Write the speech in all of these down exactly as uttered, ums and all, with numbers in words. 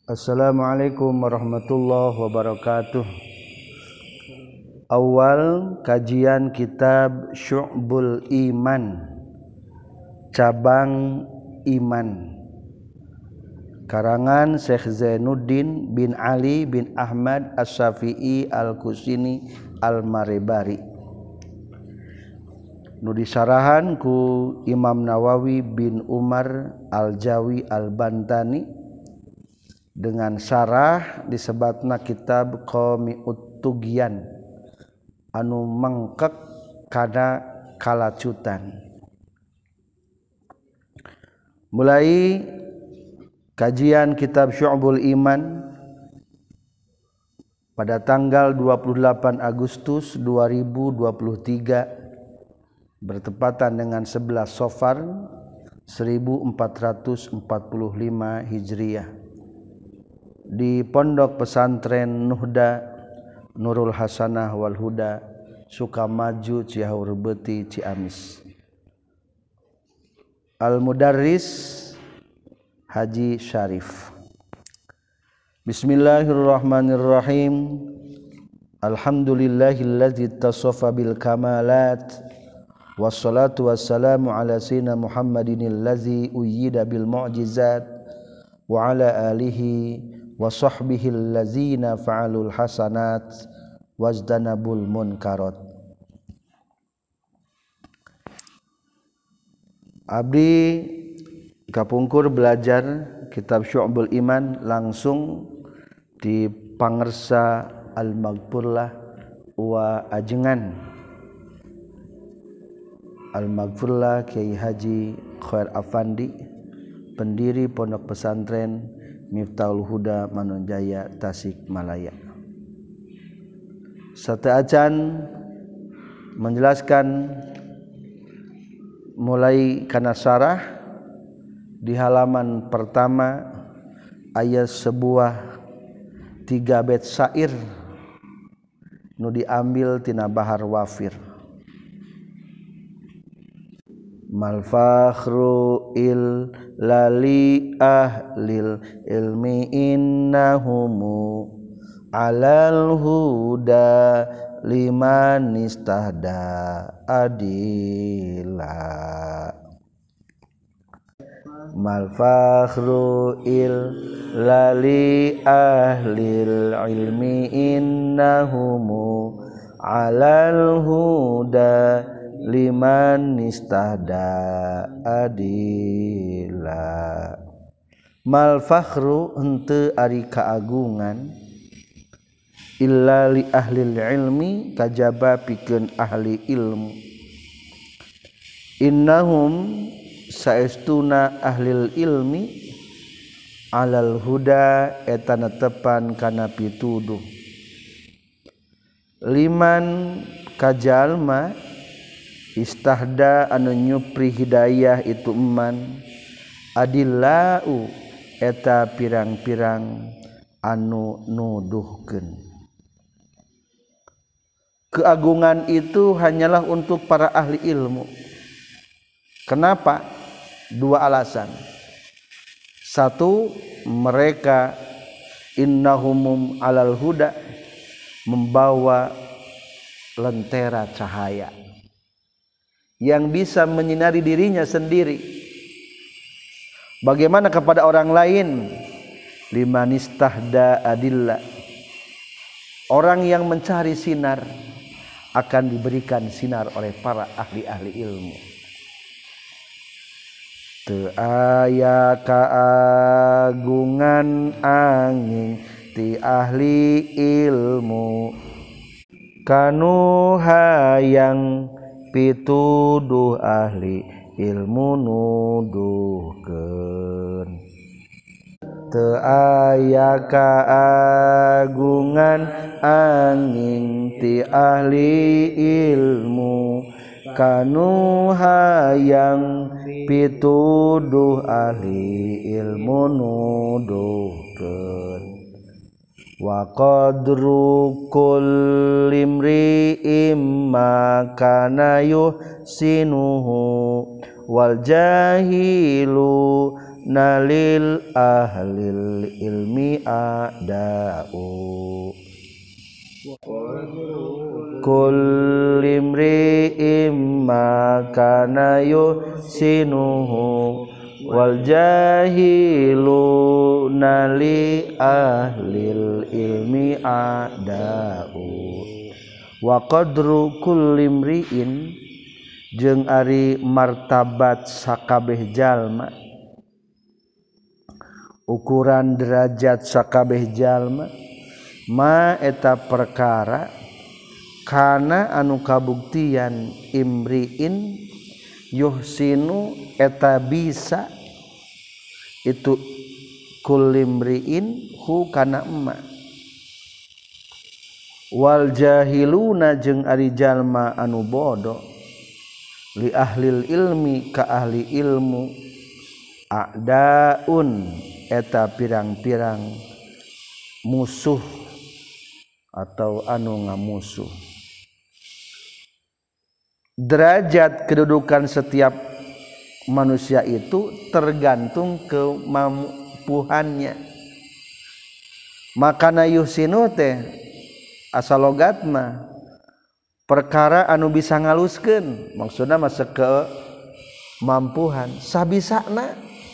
Assalamualaikum warahmatullahi wabarakatuh. Awal kajian kitab Syu'bul Iman, cabang iman, karangan Syekh Zainuddin bin Ali bin Ahmad As-Syafi'i Al-Kusini Al-Maribari, nu disarahan ku Imam Nawawi bin Umar Al-Jawi Al-Bantani dengan syarah disebatna kitab Qami'ut Tughyan anu mengkek kana kalacutan. Mulai kajian kitab Syu'bul Iman pada tanggal dua puluh delapan Agustus dua ribu dua puluh tiga bertepatan dengan sebelas Safar seribu empat ratus empat puluh lima Hijriah di Pondok Pesantren Nuhda Nurul Hasanah wal Huda, Sukamaju, Cihaur Beuti, Ciamis. Al-Mudarris Haji Syarif. Bismillahirrahmanirrahim. Alhamdulillahillazi tasaffa bil kamalat, wassalatu wassalamu ala sayyidina Muhammadinil ladzi uyyida bil mu'jizat wa ala alihi wa sahbihil ladzina fa'alul hasanat wajdanabul munkarat. Abdi kapungkur belajar kitab Syu'bul Iman langsung di pangersa Al-Maghfurlah wa ajengan Al-Maghfurlah Kiai Haji Khair Afandi, pendiri Pondok Pesantren Miftahul Huda Manonjaya Tasikmalaya. Sate acan menjelaskan mulai kana syarah di halaman pertama ayat sebuah tiga bait syair nu diambil tina Bahar Wafir. Mal fakhru il lali ahlil ilmi innahumu alal huda liman istahda adila. Mal fakhru il lali ahlil ilmi innahumu alal huda liman istahda adila. Mal fakhru henteu ari kaagungan illa li ahlil ilmi kajaba pikeun ahli ilmu. Innahum saestuna ahlil ilmi alal huda eta netepan kana pituduh. Liman kajalma istahda anu nyupri hidayah itu eman, adillau eta pirang-pirang anu nuduhkeun. Keagungan itu hanyalah untuk para ahli ilmu. Kenapa? Dua alasan. Satu, mereka innahumum alal huda, membawa lentera cahaya yang bisa menyinari dirinya sendiri. Bagaimana kepada orang lain? Liman istahda adillah, orang yang mencari sinar akan diberikan sinar oleh para ahli-ahli ilmu. Teu aya kaagungan angin ti ahli ilmu kanu hayang pituduh ahli ilmu nuduhkeun. Teu aya kaagungan angin ti ahli ilmu kanu hayang pituduh ahli ilmu nuduhkeun. Wa qadru kulli imri'im ma kana yuhsinuhu wal jahilu nalil ahlil ilmi a'da'u kullimri imma kana yusinuhu wal jahilu nali ahlil ilmi a'da'u wa qadru kullimriin jeung ari martabat sakabeh jalma ukuran derajat sakabeh jalma ma eta perkara kana anu kabuktian imriin yuhsinu eta bisa itu kullimriin hu kana emma wal jahiluna jeung ari jalma anu bodoh li ahlil ilmi ka ahli ilmu a'daun eta pirang-pirang musuh atau anu ngamusuh. Derajat kedudukan setiap manusia itu tergantung kemampuannya. Makana yuhsinu teh asal logatna perkara anu bisa ngaluskeun, maksudna masa kemampuan sabisana.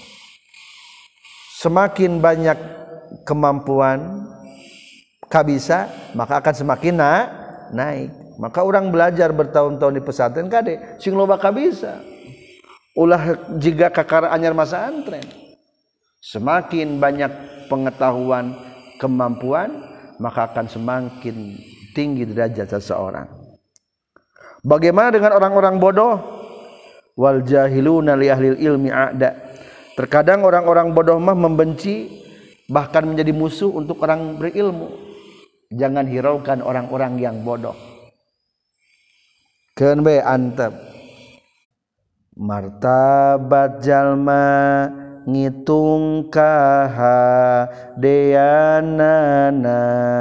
Semakin banyak kemampuan kabisa maka akan semakin na, naik. Maka orang belajar bertahun-tahun di pesantren kade sing loba kabisa. Ulah jiga kakara anyar masa antren. Semakin banyak pengetahuan, kemampuan, maka akan semakin tinggi derajat seseorang. Bagaimana dengan orang-orang bodoh? Wal jahiluna li ahlil ilmi a'da. Terkadang orang-orang bodoh mah membenci bahkan menjadi musuh untuk orang berilmu. Jangan hiraukan orang-orang yang bodoh. Keun bae antep. Martabat jalma ngitung kahadeanana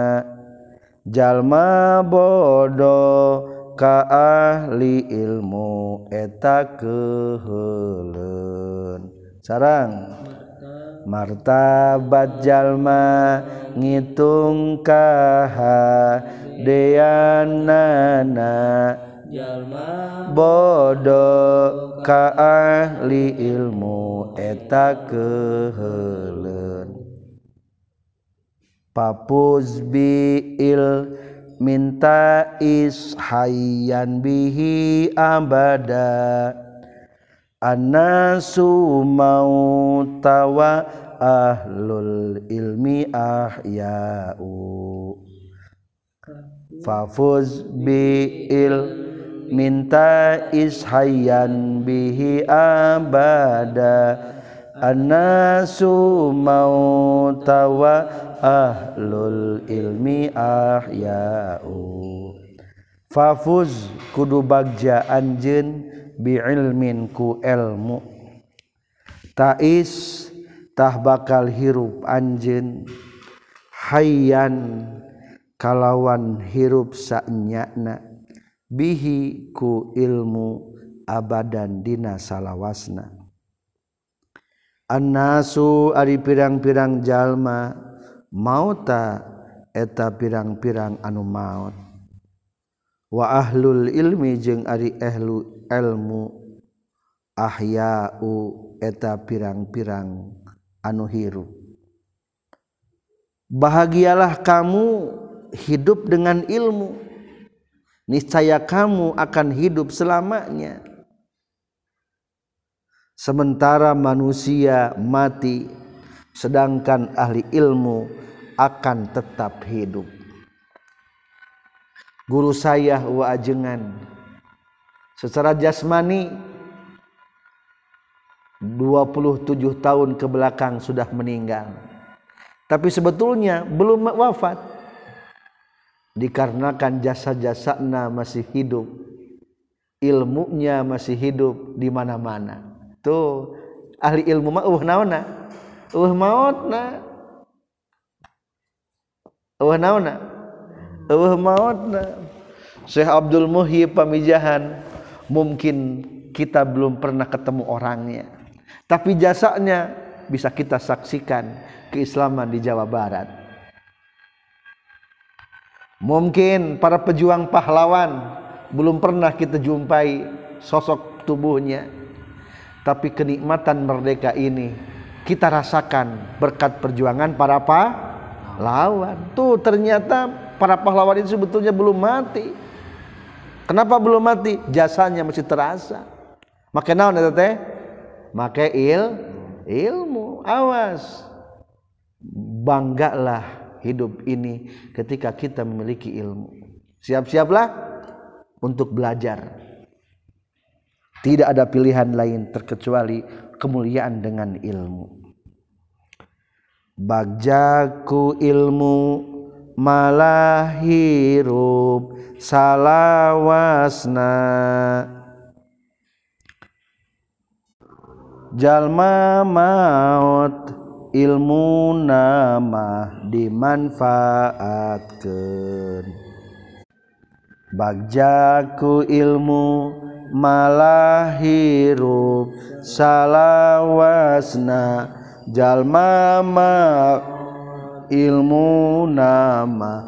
jalma bodoh ka ahli ilmu eta keheuleun. Sarang martabat jalma ngitung kahadeanana jalma bodoh ka ahli ilmu eta keheuleun. Papuz bi'il minta ishayyan bihi abada annasu mautawa ahlul ilmi ahya'u. Fafuz bi'il minta ishayyan bihi abada annasu mautawa ahlul ilmi ahya'u. Fafuz kudu bagja anjeun bi'ilmin ku ilmu ta'is tah bakal hirup anjeun hayyan kalawan hirup sanyana bihi ku ilmu abadan dina salawasna. Annasu ari pirang-pirang jalma mauta eta pirang-pirang anu maut wa ahlul ilmi jeung ari ahlu ilmu ahya'u eta pirang-pirang anu hirup. Bahagialah kamu hidup dengan ilmu, niscaya kamu akan hidup selamanya. Sementara manusia mati, sedangkan ahli ilmu akan tetap hidup. Guru saya wa ajengan secara jasmani dua puluh tujuh tahun ke belakang sudah meninggal, tapi sebetulnya belum wafat dikarenakan jasa-jasana masih hidup, ilmunya masih hidup di mana-mana. Tuh ahli ilmu mah eueuh naonna? Eueuh maotna. Eueuh naonna? Eueuh maotna. Syekh Abdul Muhyi Pamijahan mungkin kita belum pernah ketemu orangnya, tapi jasanya bisa kita saksikan keislaman di Jawa Barat. Mungkin para pejuang pahlawan belum pernah kita jumpai sosok tubuhnya, tapi kenikmatan merdeka ini kita rasakan berkat perjuangan para pahlawan. Tuh ternyata para pahlawan itu sebetulnya belum mati. Kenapa belum mati? Jasanya masih terasa. Make naon eta teh? Make il ilmu. Awas. Banggalah hidup ini ketika kita memiliki ilmu. Siap-siaplah untuk belajar. Tidak ada pilihan lain terkecuali kemuliaan dengan ilmu. Bagjaku ilmu malah hirup salawasna, jalma maut ilmu nama dimanfaatkeun. Bagjaku ilmu malah hirup salawasna, jalma maut ilmu nama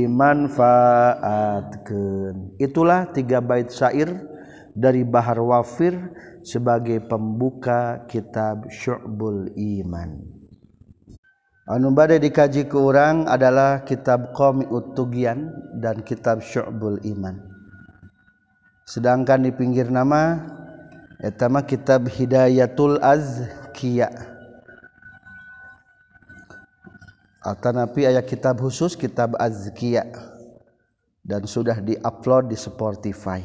dimanfaatkeun. Itulah tiga bait syair dari Bahar Wafir sebagai pembuka kitab Syu'bul Iman. Anu bade dikaji ke urang adalah kitab Qami'ut Tughyan dan kitab Syu'bul Iman. Sedangkan di pinggir nama eta mah kitab Hidayatul Azkiya. Atanapi aya kitab khusus kitab Azkiya dan sudah di-upload di Spotify.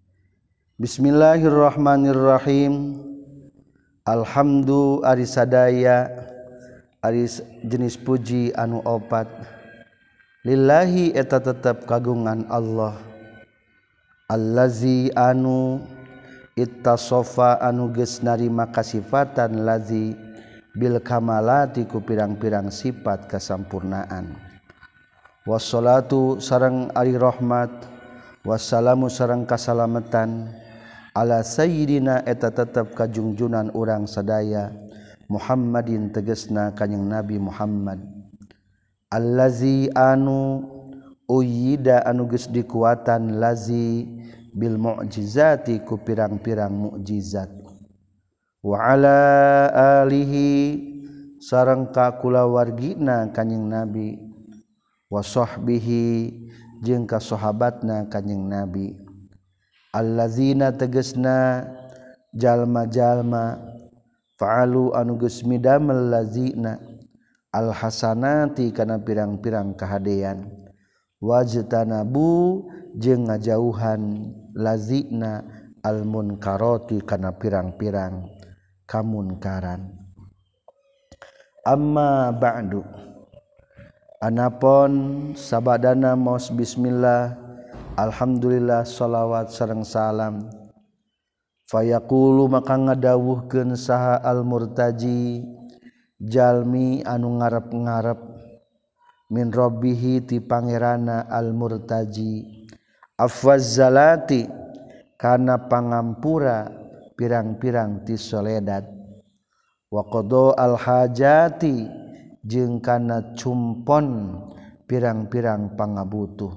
Bismillahirrahmanirrahim. Alhamdu ari sadaya ari jenis puji anu opat. Lillahi eta tetep kagungan Allah. Allazi anu ittasofa anu geus narima kasifatan lazi bil kamalati ku pirang-pirang sifat kasampurnaan. Wassalatu sareng ari rahmat, wassalamu sareng kasalamatan ala sayyidina eta tetep kajungjunan urang sadaya Muhammadin tegesna kanjing Nabi Muhammad. Allazi anu uyida anu geus dikuatan lazi bil mu'jizati ku pirang-pirang mukjizat. Wa ala alihi sareng ka kulawargina kanjing Nabi, wa sahbihi jeung ka sahabatna kanjing Nabi. Allazina tegesna jalma-jalma fa'alu anu geus midamel lazina alhasanati kana pirang-pirang kahadean, wajtanabu jeung ngajauhan lazina almunkarati kana pirang-pirang kamunkaran. Amma ba'du, anapun sabadana maos bismillah alhamdulillah salawat sareng salam fayaqulu maka ngadawuhkeun saha al murtaji jalmi anu ngarep-ngarep min rabbihi ti pangerana al murtaji afwaz zalati kana pangampura pirang-pirang ti soledat, wa qada al hajati jeung kana cumpon pirang-pirang pangabutuh.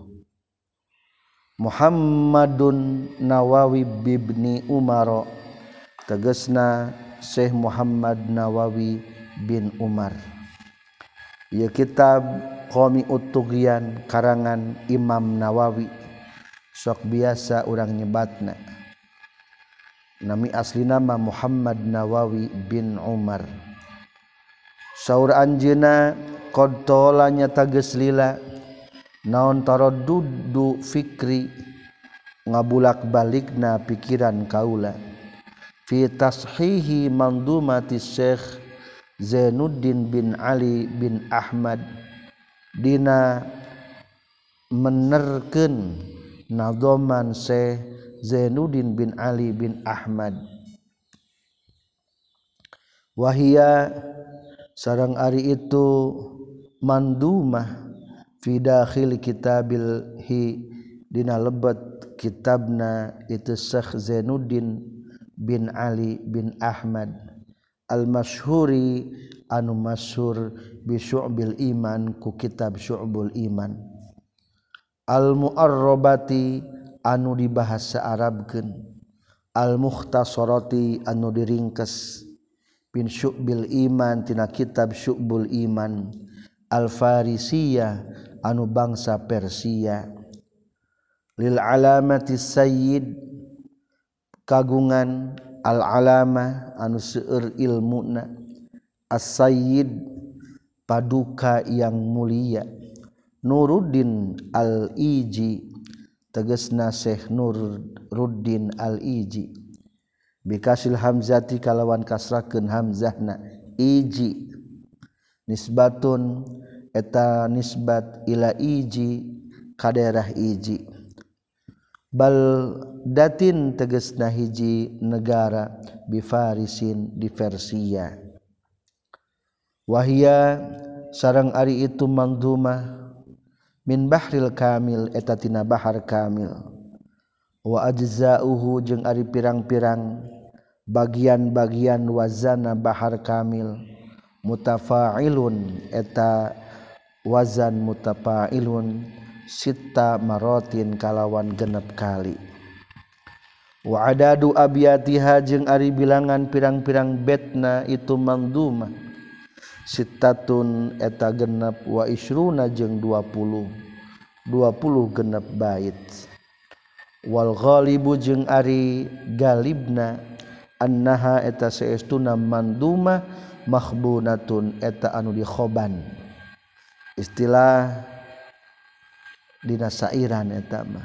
Muhammadun Nawawi bibni Umar tegesna Syekh Muhammad Nawawi bin Umar. Ieu kitab Qami'ut Tughyan karangan Imam Nawawi, sok biasa urang nyebatna nami asli nama Muhammad Nawawi bin Umar. Saur anjeuna qad tola nyata geus lila naon taraddudu fikri ngabulak-balikna pikiran kaula fi tashihi mandumati Syekh Zainuddin bin Ali bin Ahmad dina menerkeun nadhaman Syekh Zainuddin bin Ali bin Ahmad. Wahia sareng ari itu mandumah fi dakhil kitabil hi dina lebet kitabna itu Syekh Zainuddin bin Ali bin Ahmad al-masyhuri anu masyhur bi syu'bil iman ku kitab syu'bul iman al-mu'arrabati anu dibahasa Arabkeun al-mukhtasarati anu diringkes bin syu'bil iman tina kitab syu'bul iman al-farisiyah anu bangsa Persia lil alamati sayyid kagungan al-alamah anu seueur ilmuna as-sayyid paduka yang mulia Nuruddin al-Iji tegasna Syekh Nuruddin al-Iji bikasil hamzati kalawan kasrakeun hamzahna iji nisbatun eta nisbat ila iji ka daerah iji baldatin tegasna hiji negara bi Farisin di Persia wahia sareng ari itu manzumah min bahril kamil eta tina bahar kamil wa ajzauhu jeung ari pirang-pirang bagian-bagian wazana bahar kamil mutafa'ilun eta wazan mutafa'ilun sitta marotin kalawan genep kali wa adadu abiyatiha jeung ari bilangan pirang-pirang betna itu manzumah sittatun eta genep wa isruna jeung dua puluh dua puluh genep bait wal ghalibu jeung ari galibna annaha eta saestuna manzumah makhbunatun eta anu dikhoban istilah dina sairan eta mah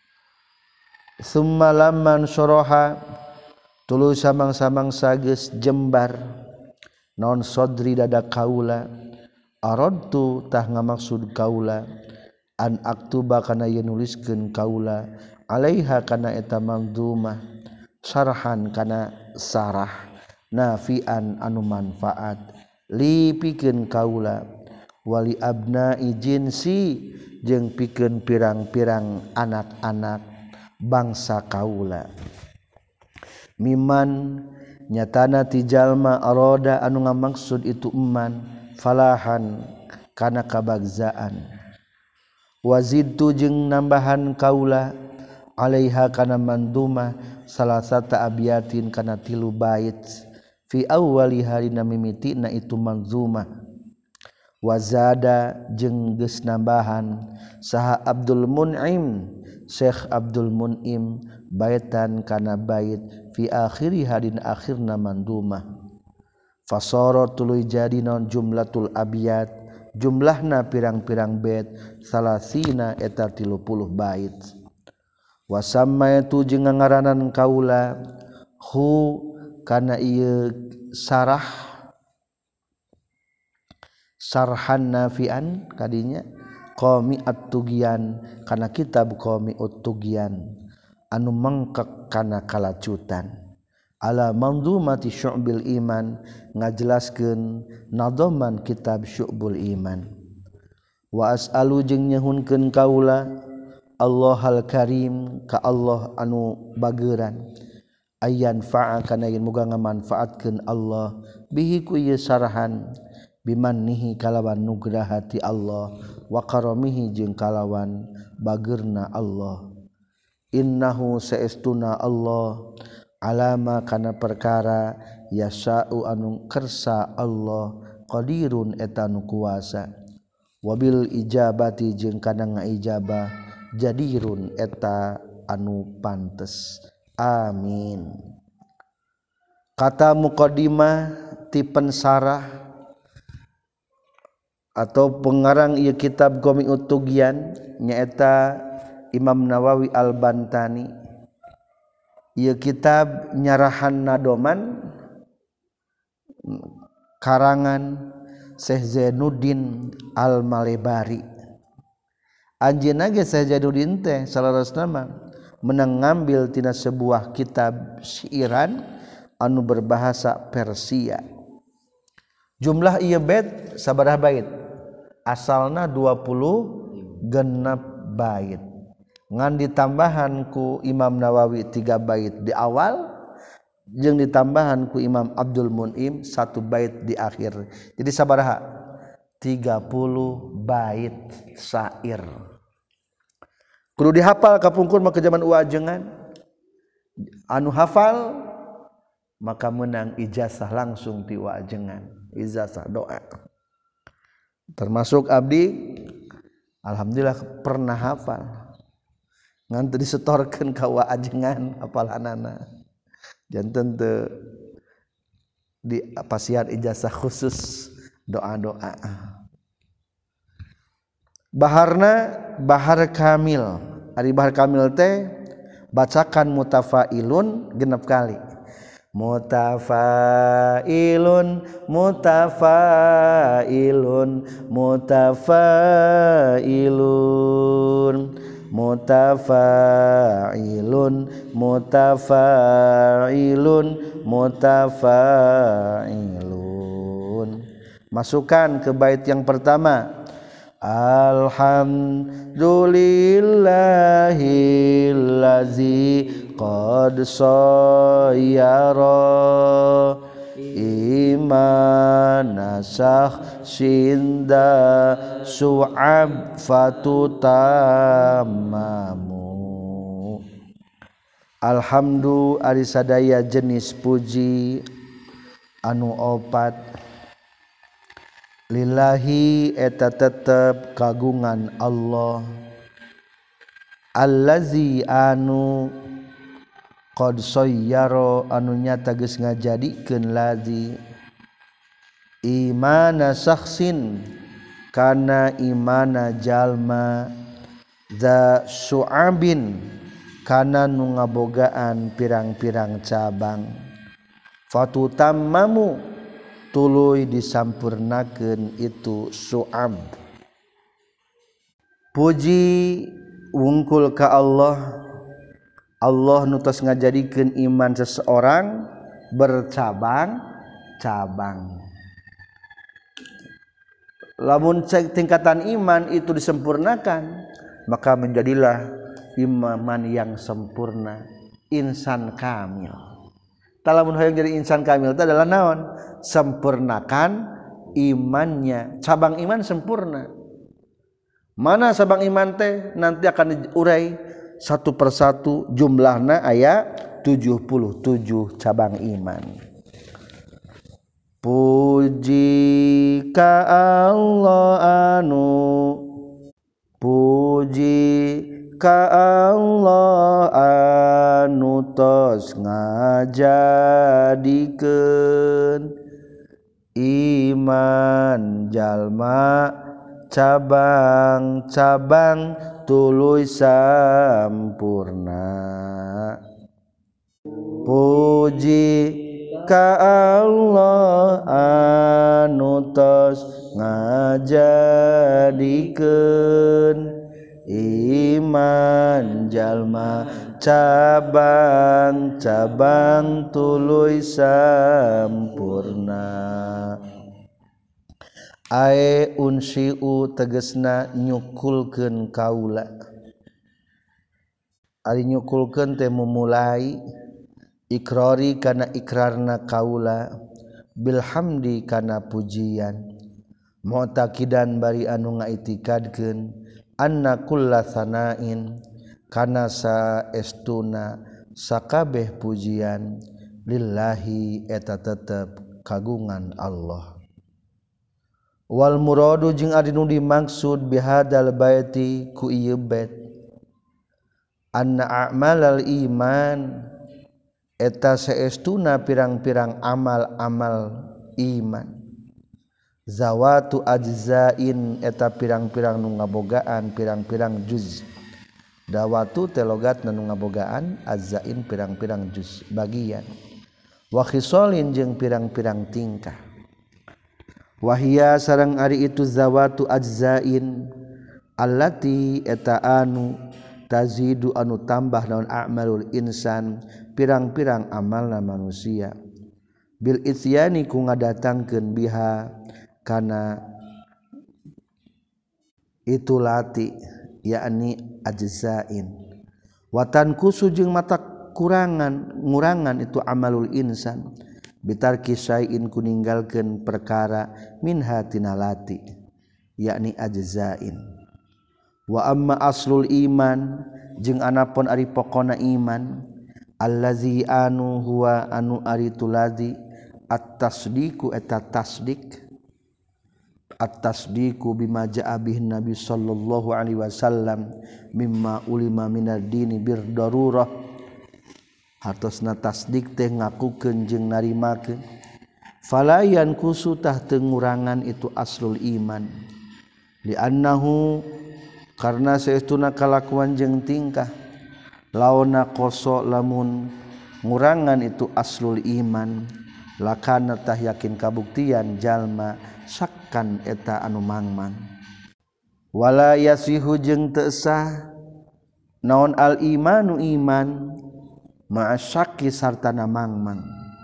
summa lamman soroha tuluy samang-samang sageus jembar naon sodri dada kaula aradtu tah ngamaksud kaula an aktuba kana yen nuliskeun kaula alaiha kana eta manzumah sarhan kana sarah nafian anu manfaat li pikeun kaula wali abna'i jinsi jeung pikeun pirang-pirang anak-anak bangsa kaula miman nyatana ti jalma aroda anu ngamaksud itu eman falahan kana kabagzaan wazidtu jeung nambahan kaula alaiha kana manzumah salasata abiyatin kana tilu bait fi awwali harina mimitina itu manzumah wazada jeung geus nambahan saha Abdul Mun'im Syekh Abdul Mun'im baitan kana bait fi akhiri hadin akhirna manzumah fasara tuluy jadi naon jumlatul abiyat jumlahna pirang-pirang bait salasina eta tilu puluh bait wasamma itu jeung ngaranan kaula hu kana ieu sarah sarhan nafian kadinya qami at-tughyan kana kitab qami at-tughyan anu mengkek kana kalacutan ala manzumati syu'bil iman ngajelaskeun nadhaman kitab syu'bul iman wa as'alu jeung nyehunkeun kaula Allahal karim ka Allah anu bageuran ayyan fa'a kana yen muga ngamanfaatkeun Allah bihi ku ieu sarhan bimannihi kalawan nugrahati Allah wa karamihi jeung kalawan bageurna Allah innahu saestuna Allah alama kana perkara yasa'u anu kersa Allah qadirun eta nu kuasa wabil ijabati jeung kana ngaijabah jadirun eta anu pantes amin kata muqaddimah ti pensarah atau pengarang ieu kitab Qami'ut Tughyan nyaeta Imam Nawawi Al-Bantani ieu kitab nyarahan nadoman karangan Syekh Zainuddin Al-Malebari anjeunna ge Syekh Zainuddin teh salarosna mah menang ngambil tina sebuah kitab syairan anu berbahasa Persia jumlah ieu bait sabaraha bait asalna dua puluh genep bait ngan ditambahan ku Imam Nawawi tiga bait di awal jeung ditambahan ku Imam Abdul Mun'im satu bait di akhir. Jadi sabaraha? tiga puluh bait syair. Kudu dihafal kapungkur mah ke zaman uajengan. Anu hafal maka menang ijazah langsung ti uajengan. Ijazah doa. Termasuk abdi alhamdulillah pernah hafal. Ngan teu disetorkeun ka uajengan hafalanana. Janten teu di pasian ijazah khusus doa-doa. Baharna bahar kamil. Ari bahar kamil teh bacakan mutafailun genep kali. Mutafailun mutafailun mutafailun mutafailun mutafailun mutafailun. Masukkan ke bait yang pertama. Alhamdulillahillazi qad sayyara imana sahsinda su'ab fatutamamu. Alhamdu ari sadaya jenis puji anu opat lillahi eta tetep kagungan Allah allazi anu qad sayyara anu nyata geus ngajadikeun lazi imana sakhsin kana imana jalma za su'abin kana nu ngabogaan pirang-pirang cabang fatutammamu tuluy disampurnakeun itu su'ab. Puji wungkul ka Allah. Allah nu tos ngajadikeun iman seseorang bercabang-cabang. Lamun tingkatan iman itu disempurnakan, maka menjadilah iman yang sempurna, insan kamil. Talamun hoyong jadi insan kamil itu adalah naon? Sempurnakan imannya. Cabang iman sempurna. Mana cabang iman teh? Nanti akan diurai satu persatu jumlahna aya tujuh puluh tujuh cabang iman. Puji ka Allah anu puji ka Allah anu tos ngajadikeun iman jalma cabang-cabang tuluy sampurna. Puji ka Allah anu tos ngajadikeun iman jalma cabang-cabang tuluy sampurna. Ae unsiu tegesna nyukulkeun kaula. Ari nyukulkeun teh memulai ikrari kana ikrarna kaula bilhamdi kana pujian mu'taqidan bari anu ngaitikadkeun anna kulla sanain kana saestuna sakabeh pujian lillahi eta tetep kagungan Allah. Wal muradu jeung ari nu dimaksud bihadal baiti ku ieu bait anna a'malal iman eta saestuna pirang-pirang amal-amal iman zawatu ajzain eta pirang-pirang nu ngabogaan pirang-pirang juz. Dawatu telogatna nu ngabogaan ajzain pirang-pirang juz bagian wa khisalin jeung pirang-pirang tingkah. Wahia sareng ari itu zawatu ajzain allati eta anu tazidu anu tambah naon a'malul insan pirang-pirang amalna manusia bil isyani ku ngadatangkeun biha kana itulati yakni ajzain watan kusu jeung mata kurangan ngurangan itu amalul insan bitarki syai'in kuninggalkeun perkara minha tinalati yakni ajzain. Wa amma aslul iman jeung anapun ari pokona iman allazi anu huwa anu ari tuladi at-tasdiqu eta tasdik at-tasdiqu bima jaa bihi nabi sallallahu alaihi wasallam mimma ulima minad dini bir darurah hartosna tasdik teh ngakukeun jeung narimakeun falayan kusu tah teu ngurangan itu aslul iman li annahu karna saestuna kalakuan jeung tingkah launa qoso lamun ngurangan itu aslul iman lakana tah yakin kabuktian jalma sakkan eta anu mangmang wala yasihu jeung teu sah naon al imanu iman ma'asyaki sartana mangmang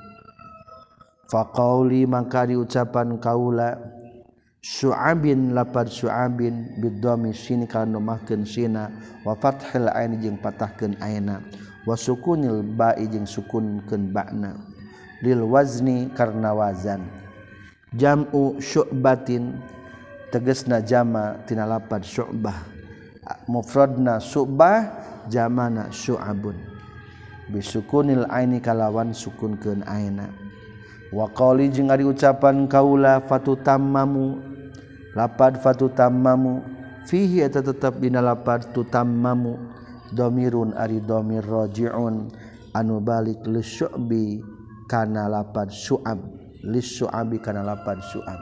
faqauli maka diucapan kaula syu'abin lapad syu'abin biddami sini kana nomahkeun sina wa fathil ain jeung patahkeun aina wa sukunil ba'i jeung sukunkeun ba'na lil wazni karna wazan jam'u syu'batin tegasna jama tina lapad syu'bah mufradna syu'bah jamana syu'abun bisukunil aini kalawan sukunkeun aina wa qali jeung ari ucapan kaula fatutammamu lapad fatutammamu fihi eta tetep dina lapad tutammamu dhamirun ari dhamir raji'un anu balik lisyu'bi kana lapad syu'ab lisyu'abi kana lapad syu'ab.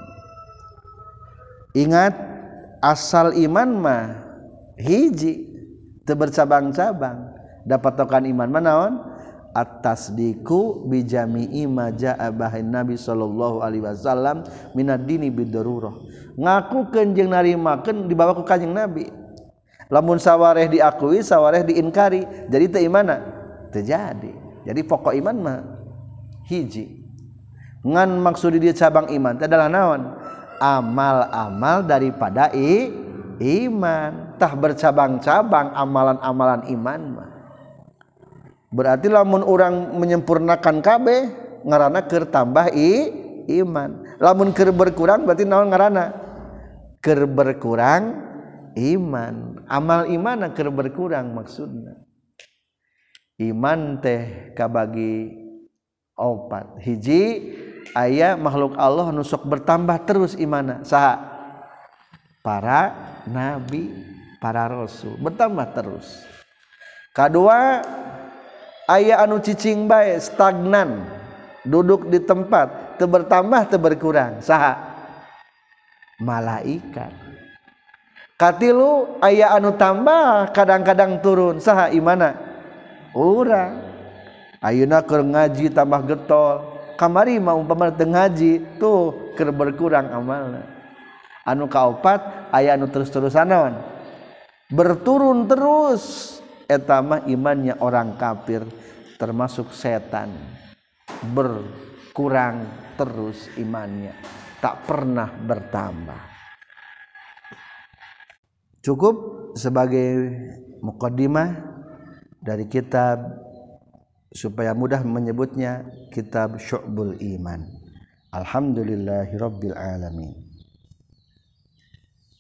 Ingat asal iman mah hiji teu bercabang-cabang dapat tokan iman mah naon at-tasdiqu bi jami'i ma jaa bahin nabi sallallahu alaihi wasallam minad dini bidarurah ngakukeun jeung narimakeun dibawa ku kanjing nabi lamun sawareh diakui sawareh diinkari jadi teu imanna teu jadi jadi pokok iman mah hiji ngan maksud dia cabang iman itu adalah naon amal-amal daripada i, iman tah bercabang-cabang amalan-amalan iman mah berarti lamun orang menyempurnakan kabeh ngaranna keur tambah i, iman lamun keur berkurang berarti naon ngaranna keur berkurang iman amal iman keur berkurang maksudna iman teh kabagi opat hiji aya makhluk Allah nu sok bertambah terus imana saha para nabi para rasul bertambah terus kadua aya anu cicing bae stagnan duduk di tempat teu bertambah teu berkurang saha malaikat katilu aya anu tambah kadang-kadang turun saha imana urang ayeuna keur ngaji tambah getol kamari mah umpama teu ngaji tuh keur berkurang amalna anu kaopat aya anu terus-terusan naon berturun terus eta mah imannya orang kafir termasuk setan berkurang terus imannya tak pernah bertambah cukup sebagai muqaddimah dari kitab supaya mudah menyebutnya kitab Syu'bul Iman. Alhamdulillahirabbil alamin.